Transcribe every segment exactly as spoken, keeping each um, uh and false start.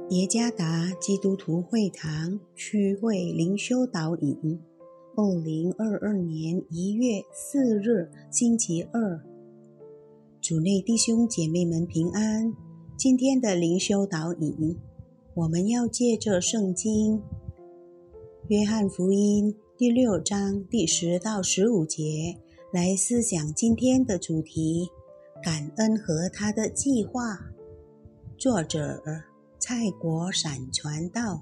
耶加达基督徒会堂区会灵修导引，二零二二年一月四日星期二。主内弟兄姐妹们平安。今天的灵修导引，我们要借着圣经约翰福音第六章第十到十五节来思想今天的主题：感恩和他的计划。作者蔡国闪传道。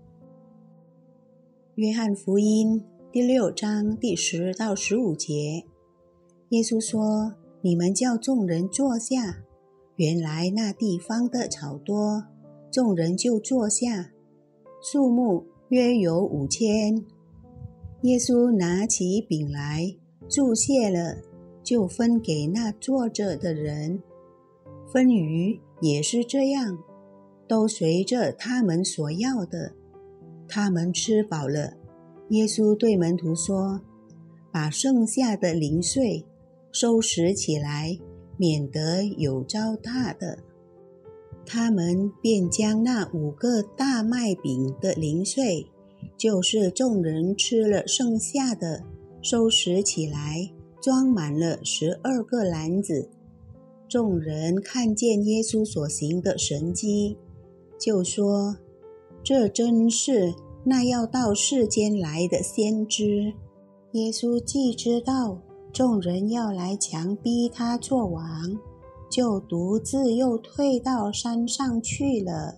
约翰福音第六章第十到十五节，耶稣说：你们叫众人坐下。原来那地方的草多，众人就坐下，数目约有五千。耶稣拿起饼来，祝谢了，就分给那坐着的人。分鱼也是这样，都随着他们所要的。他们吃饱了，耶稣对门徒说：把剩下的零碎收拾起来，免得有糟蹋的。他们便将那五个大麦饼的零碎，就是众人吃了剩下的，收拾起来，装满了十二个篮子。众人看见耶稣所行的神迹，就说：这真是那要到世间来的先知。耶稣既知道众人要来强逼他做王，就独自又退到山上去了。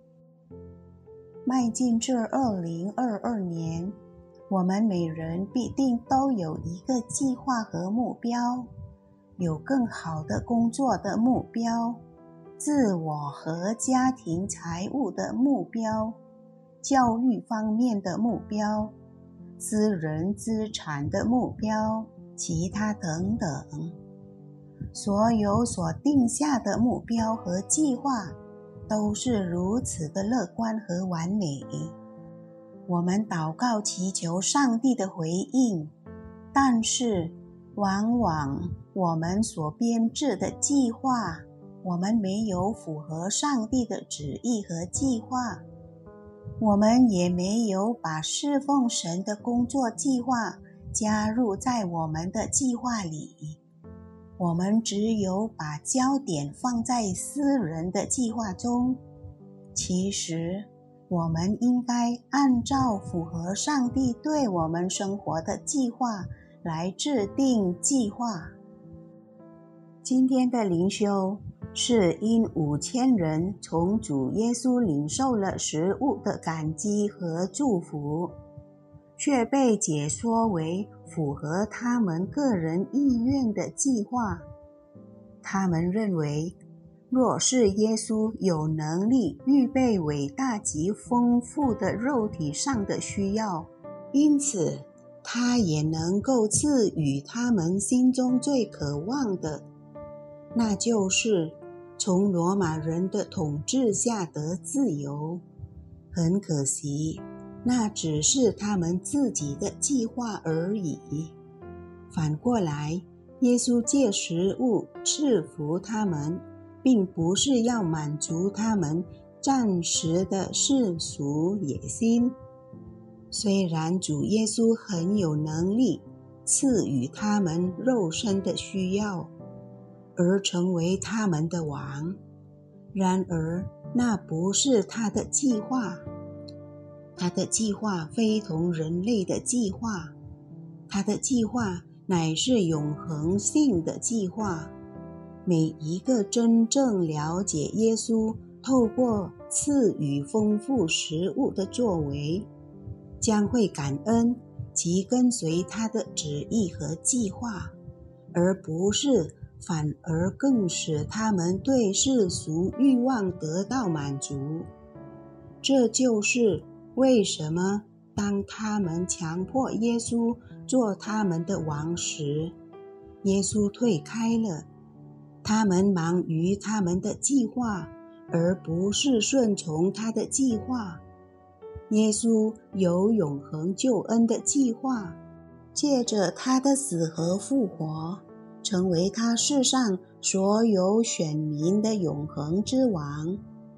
迈进这二零二二年，我们每人必定都有一个计划和目标，有更好的工作的目标，自我和家庭财务的目标，教育方面的目标，私人资产的目标，其他等等。所有所定下的目标和计划都是如此的乐观和完美。我们祷告祈求上帝的回应，但是往往我们所编制的计划，我们没有符合上帝的旨意和计划，我们也没有把侍奉神的工作计划加入在我们的计划里，我们只有把焦点放在私人的计划中。其实我们应该按照符合上帝对我们生活的计划来制定计划。今天的灵修是因五千人从主耶稣领受了食物的感激和祝福，却被解说为符合他们个人意愿的计划。他们认为，若是耶稣有能力预备伟大及丰富的肉体上的需要，因此他也能够赐予他们心中最渴望的，那就是从罗马人的统治下得自由。很可惜，那只是他们自己的计划而已。反过来，耶稣借食物赐福他们，并不是要满足他们暂时的世俗野心。虽然主耶稣很有能力赐予他们肉身的需要，而成为他们的王，然而那不是他的计划。他的计划非同人类的计划，他的计划乃是永恒性的计划。每一个真正了解耶稣透过赐予丰富食物的作为，将会感恩及跟随他的旨意和计划，而不是反而更使他们对世俗欲望得到满足。这就是为什么当他们强迫耶稣做他们的王时，耶稣退开了。他们忙于他们的计划，而不是顺从他的计划。耶稣有永恒救恩的计划，借着他的死和复活，成为他世上所有选民的永恒之王。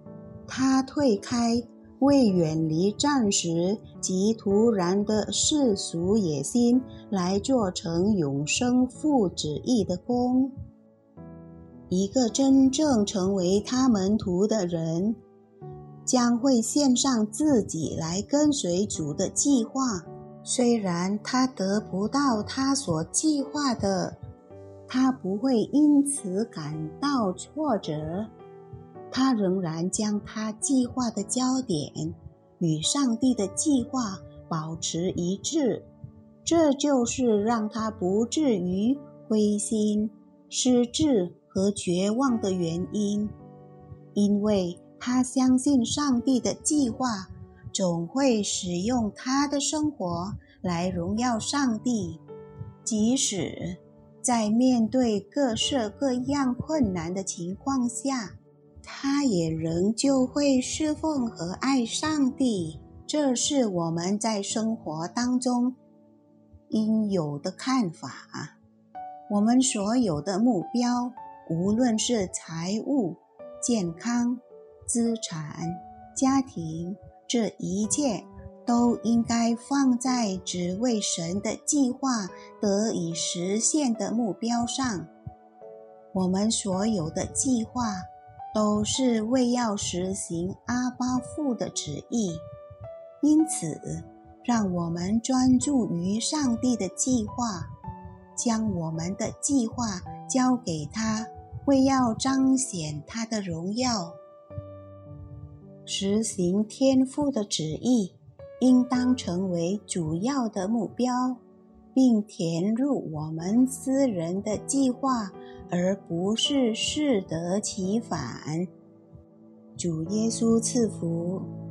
他退开，为远离暂时及突然的世俗野心，来做成永生父旨意的工。一个真正成为他门徒的人，将会献上自己来跟随主的计划。虽然他得不到他所计划的，他不会因此感到挫折，他仍然将他计划的焦点与上帝的计划保持一致，这就是让他不至于灰心、失志和绝望的原因，因为他相信上帝的计划总会使用他的生活来荣耀上帝，即使在面对各式各样困难的情况下，他也仍旧会侍奉和爱上帝。这是我们在生活当中应有的看法。我们所有的目标，无论是财务、健康、资产、家庭，这一切都应该放在只为神的计划得以实现的目标上。我们所有的计划都是为要实行阿爸父的旨意，因此让我们专注于上帝的计划，将我们的计划交给他，为要彰显他的荣耀。实行天父的旨意应当成为主要的目标，并填入我们私人的计划，而不是适得其反。主耶稣赐福。